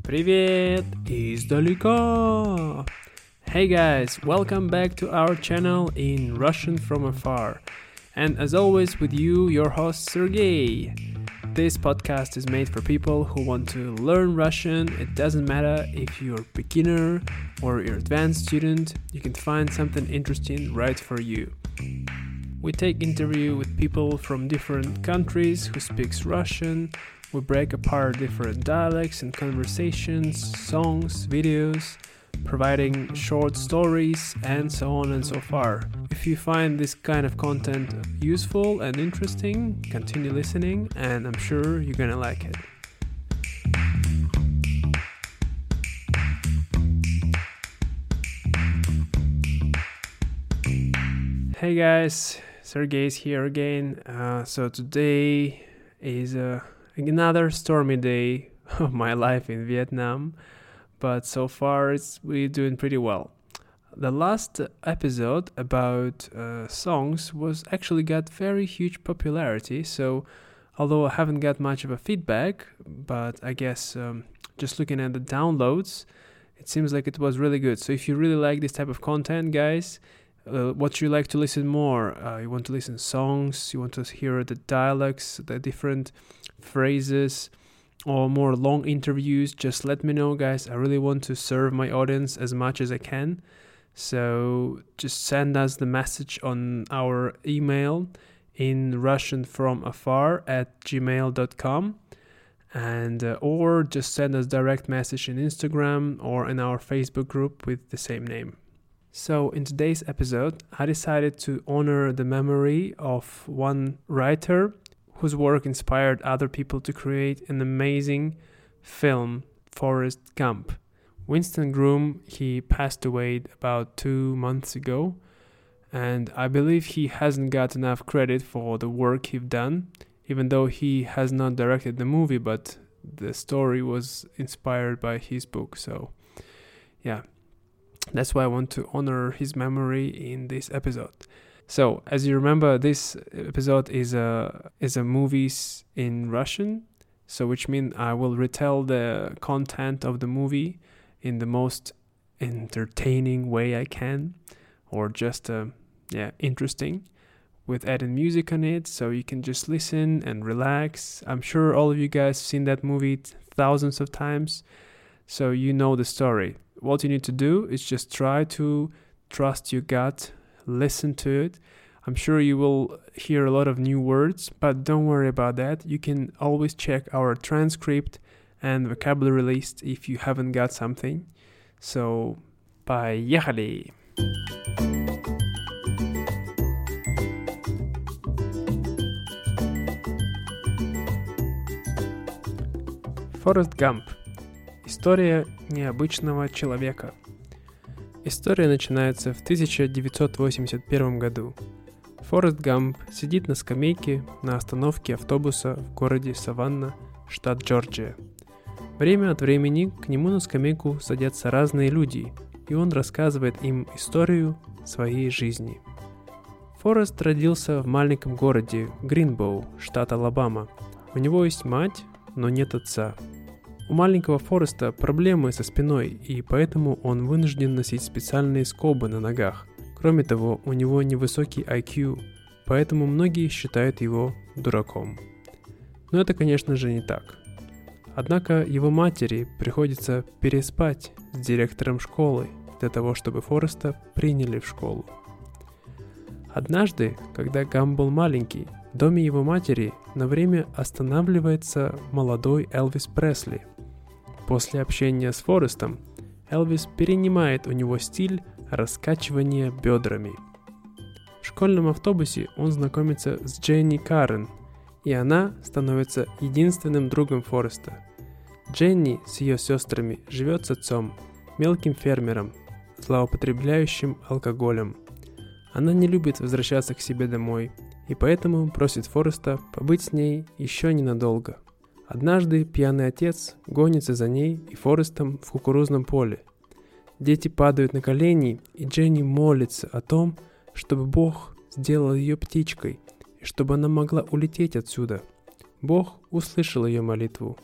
Привет издалека! Hey guys, welcome back to our channel in Russian from afar. And as always with you, your host Sergey. This podcast is made for people who want to learn Russian. It doesn't matter if you're a beginner or you're an advanced student, you can find something interesting right for you. We take interview with people from different countries who speaks Russian. We break apart different dialects and conversations, songs, videos, providing short stories, and so on and so far. If you find this kind of content useful and interesting, continue listening, and I'm sure you're gonna like it. Hey guys, Sergey's here again. So today is another stormy day of my life in Vietnam, but so far we're doing pretty well. The last episode about songs was actually got very huge popularity, so although I haven't got much of a feedback, but I guess just looking at the downloads, it seems like it was really good. So if you really like this type of content, guys, what you like to listen more, you want to listen songs, you want to hear the dialects, the different phrases, or more long interviews, just let me know, guys. I really want to serve my audience as much as I can. So just send us the message on our email in russianfromafar@gmail.com, and or just send us direct message in Instagram or in our Facebook group with the same name. So in today's episode, I decided to honor the memory of one writer whose work inspired other people to create an amazing film, Forrest Gump. Winston Groom, he passed away about 2 months ago, and I believe he hasn't got enough credit for the work he's done, even though he has not directed the movie, but the story was inspired by his book. So yeah, that's why I want to honor his memory in this episode. So, as you remember, this episode is a movies in Russian, so which means I will retell the content of the movie in the most entertaining way I can, or just interesting, with adding music on it, so you can just listen and relax. I'm sure all of you guys seen that movie thousands of times, so you know the story. What you need to do is just try to trust your gut. Listen to it. I'm sure you will hear a lot of new words, but don't worry about that. You can always check our transcript and vocabulary list if you haven't got something. So, поехали! Форрест Гамп. История необычного человека. История начинается в 1981 году. Форрест Гамп сидит на скамейке на остановке автобуса в городе Саванна, штат Джорджия. Время от времени к нему на скамейку садятся разные люди, и он рассказывает им историю своей жизни. Форрест родился в маленьком городе Гринбоу, штат Алабама. У него есть мать, но нет отца. У маленького Форреста проблемы со спиной, и поэтому он вынужден носить специальные скобы на ногах. Кроме того, у него невысокий IQ, поэтому многие считают его дураком. Но это, конечно же, не так. Однако его матери приходится переспать с директором школы для того, чтобы Форреста приняли в школу. Однажды, когда Гамп был маленький, в доме его матери на время останавливается молодой Элвис Пресли. После общения с Форрестом Элвис перенимает у него стиль раскачивания бедрами. В школьном автобусе он знакомится с Дженни Карен, и она становится единственным другом Форреста. Дженни с ее сестрами живет с отцом, мелким фермером, злоупотребляющим алкоголем. Она не любит возвращаться к себе домой, и поэтому просит Форреста побыть с ней еще ненадолго. Однажды пьяный отец гонится за ней и Форрестом в кукурузном поле. Дети падают на колени, и Дженни молится о том, чтобы Бог сделал ее птичкой, и чтобы она могла улететь отсюда. Бог услышал ее молитву,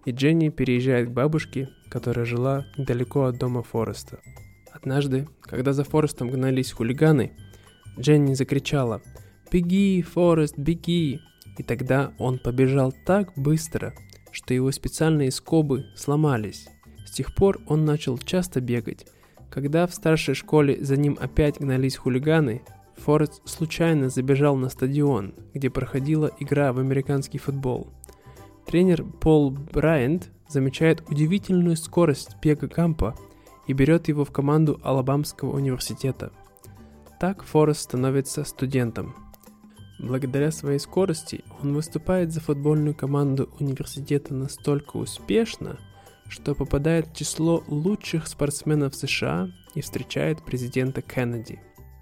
и Дженни переезжает к бабушке, которая жила недалеко от дома Фореста. Однажды, когда за Форестом гнались хулиганы, Дженни закричала: «Беги, Форест, беги!» И тогда он побежал так быстро, что его специальные скобы сломались. С тех пор он начал часто бегать. Когда в старшей школе за ним опять гнались хулиганы, Форест случайно забежал на стадион, где проходила игра в американский футбол. Тренер Пол Брайант замечает удивительную скорость бега Гампа и берет его в команду Алабамского университета. Так Форест становится студентом. Благодаря своей скорости он выступает за футбольную команду университета настолько успешно, что попадает в число лучших спортсменов США и встречает президента Кеннеди.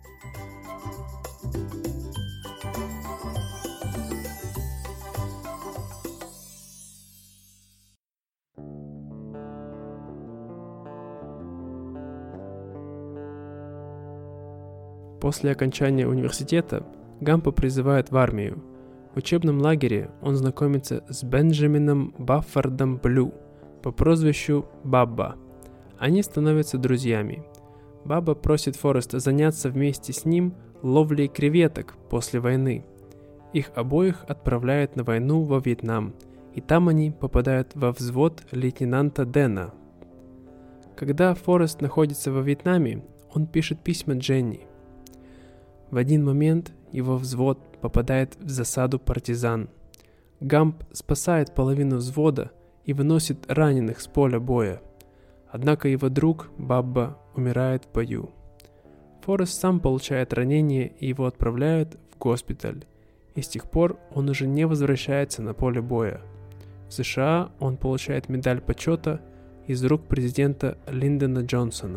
После окончания университета Гампа призывают в армию. В учебном лагере он знакомится с Бенджамином Баффордом Блю по прозвищу Бабба. Они становятся друзьями. Бабба просит Фореста заняться вместе с ним ловлей креветок после войны. Их обоих отправляют на войну во Вьетнам, и там они попадают во взвод лейтенанта Дэна. Когда Форест находится во Вьетнаме, он пишет письма Дженни. В один момент его взвод попадает в засаду партизан. Гамп спасает половину взвода и выносит раненых с поля боя. Однако его друг Бабба умирает в бою. Форест сам получает ранение и его отправляют в госпиталь. И с тех пор он уже не возвращается на поле боя. В США он получает медаль почета из рук президента Линдона Джонсона.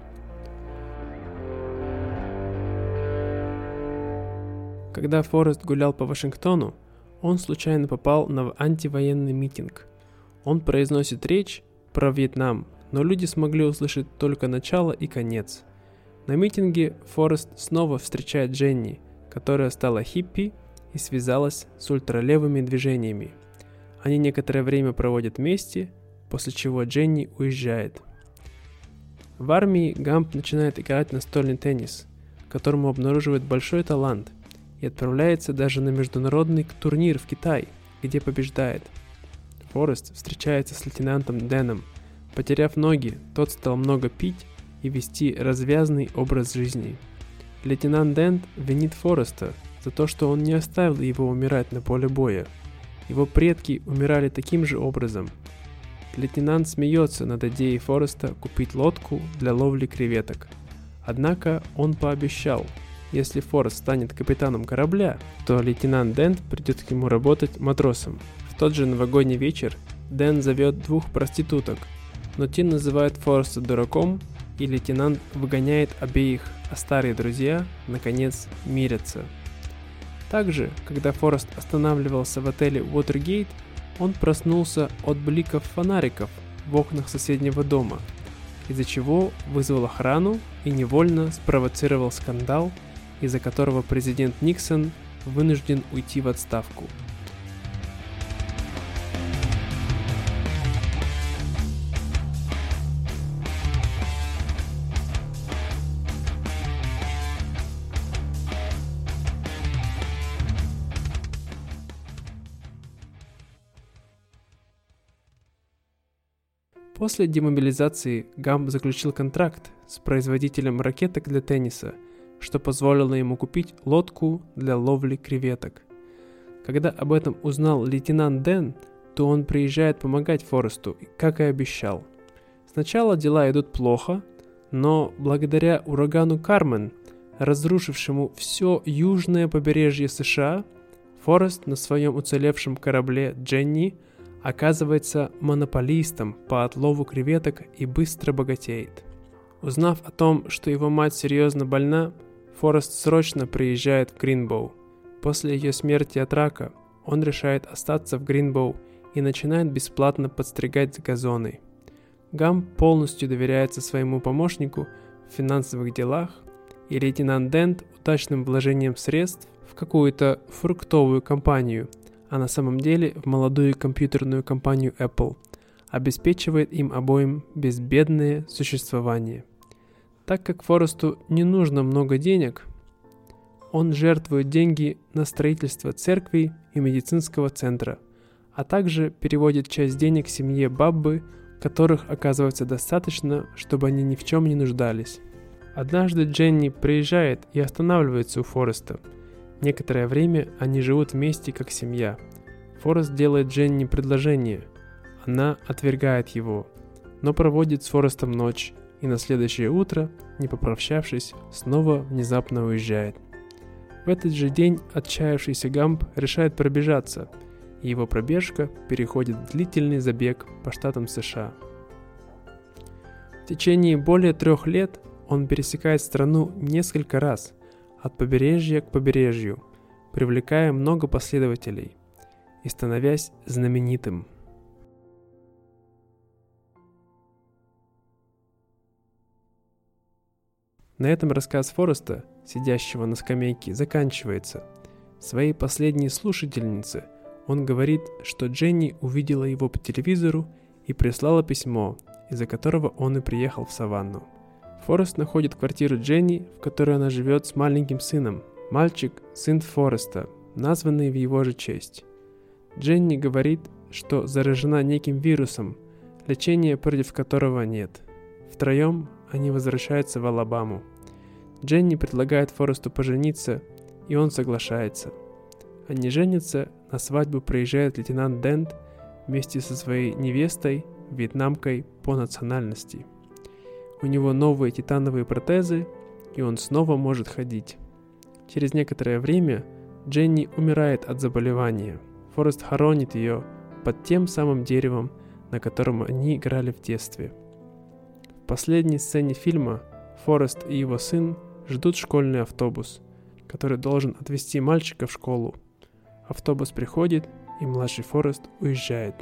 Когда Форест гулял по Вашингтону, он случайно попал на антивоенный митинг. Он произносит речь про Вьетнам, но люди смогли услышать только начало и конец. На митинге Форест снова встречает Дженни, которая стала хиппи и связалась с ультралевыми движениями. Они некоторое время проводят вместе, после чего Дженни уезжает. В армии Гамп начинает играть настольный теннис, которому обнаруживает большой талант, и отправляется даже на международный турнир в Китай, где побеждает. Форест встречается с лейтенантом Дэном. Потеряв ноги, тот стал много пить и вести развязный образ жизни. Лейтенант Дэн винит Фореста за то, что он не оставил его умирать на поле боя. Его предки умирали таким же образом. Лейтенант смеется над идеей Фореста купить лодку для ловли креветок. Однако он пообещал, если Форест станет капитаном корабля, то лейтенант Дэн придет к нему работать матросом. В тот же новогодний вечер Дэн зовет 2 проституток, но те называют Фореста дураком, и лейтенант выгоняет обеих, а старые друзья, наконец, мирятся. Также, когда Форест останавливался в отеле Уотергейт, он проснулся от бликов фонариков в окнах соседнего дома, из-за чего вызвал охрану и невольно спровоцировал скандал, из-за которого президент Никсон вынужден уйти в отставку. После демобилизации Гамп заключил контракт с производителем ракеток для тенниса, что позволило ему купить лодку для ловли креветок. Когда об этом узнал лейтенант Дэн, то он приезжает помогать Форесту, как и обещал. Сначала дела идут плохо, но благодаря урагану Кармен, разрушившему все южное побережье США, Форест на своем уцелевшем корабле Дженни оказывается монополистом по отлову креветок и быстро богатеет. Узнав о том, что его мать серьезно больна, Форест срочно приезжает в Гринбоу. После ее смерти от рака он решает остаться в Гринбоу и начинает бесплатно подстригать газоны. Гамп полностью доверяется своему помощнику в финансовых делах, и лейтенант Дэн удачным вложением средств в какую-то фруктовую компанию, а на самом деле в молодую компьютерную компанию Apple, обеспечивает им обоим безбедное существование. Так как Форесту не нужно много денег, он жертвует деньги на строительство церкви и медицинского центра, а также переводит часть денег семье Баббы, которых оказывается достаточно, чтобы они ни в чем не нуждались. Однажды Дженни приезжает и останавливается у Фореста. Некоторое время они живут вместе как семья. Форест делает Дженни предложение. Она отвергает его, но проводит с Форестом ночь и на следующее утро, не попрощавшись, снова внезапно уезжает. В этот же день отчаявшийся Гамп решает пробежаться, и его пробежка переходит в длительный забег по штатам США. В течение более 3 лет он пересекает страну несколько раз, от побережья к побережью, привлекая много последователей и становясь знаменитым. На этом рассказ Фореста, сидящего на скамейке, заканчивается. Своей последней слушательнице он говорит, что Дженни увидела его по телевизору и прислала письмо, из-за которого он и приехал в Саванну. Форест находит квартиру Дженни, в которой она живет с маленьким сыном. Мальчик – сын Фореста, названный в его же честь. Дженни говорит, что заражена неким вирусом, лечения против которого нет. Втроем они возвращаются в Алабаму. Дженни предлагает Форесту пожениться, и он соглашается. Они женятся, на свадьбу приезжает лейтенант Дент вместе со своей невестой, вьетнамкой по национальности. У него новые титановые протезы, и он снова может ходить. Через некоторое время Дженни умирает от заболевания. Форест хоронит ее под тем самым деревом, на котором они играли в детстве. В последней сцене фильма Форест и его сын ждут школьный автобус, который должен отвезти мальчика в школу. Автобус приходит, и младший Форест уезжает.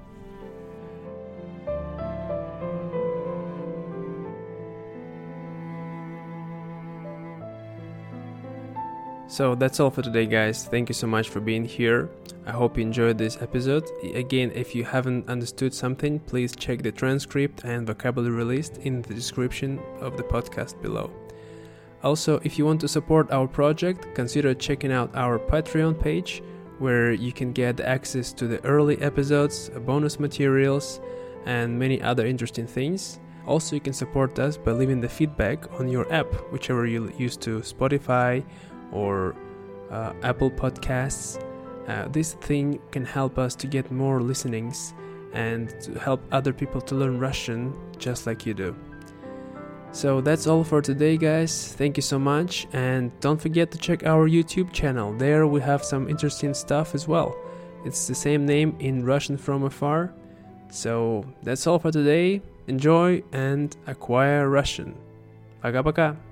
So that's all for today, guys. Thank you so much for being here. I hope you enjoyed this episode. Again, if you haven't understood something, please check the transcript and vocabulary list in the description of the podcast below. Also, if you want to support our project, consider checking out our Patreon page, where you can get access to the early episodes, bonus materials, and many other interesting things. Also, you can support us by leaving the feedback on your app, whichever you use to Spotify or Apple Podcasts. This thing can help us to get more listenings and to help other people to learn Russian just like you do. So that's all for today, guys. Thank you so much, and don't forget to check our YouTube channel. There we have some interesting stuff as well. It's the same name in Russian from afar. So that's all for today. Enjoy and acquire Russian. Пока-пока.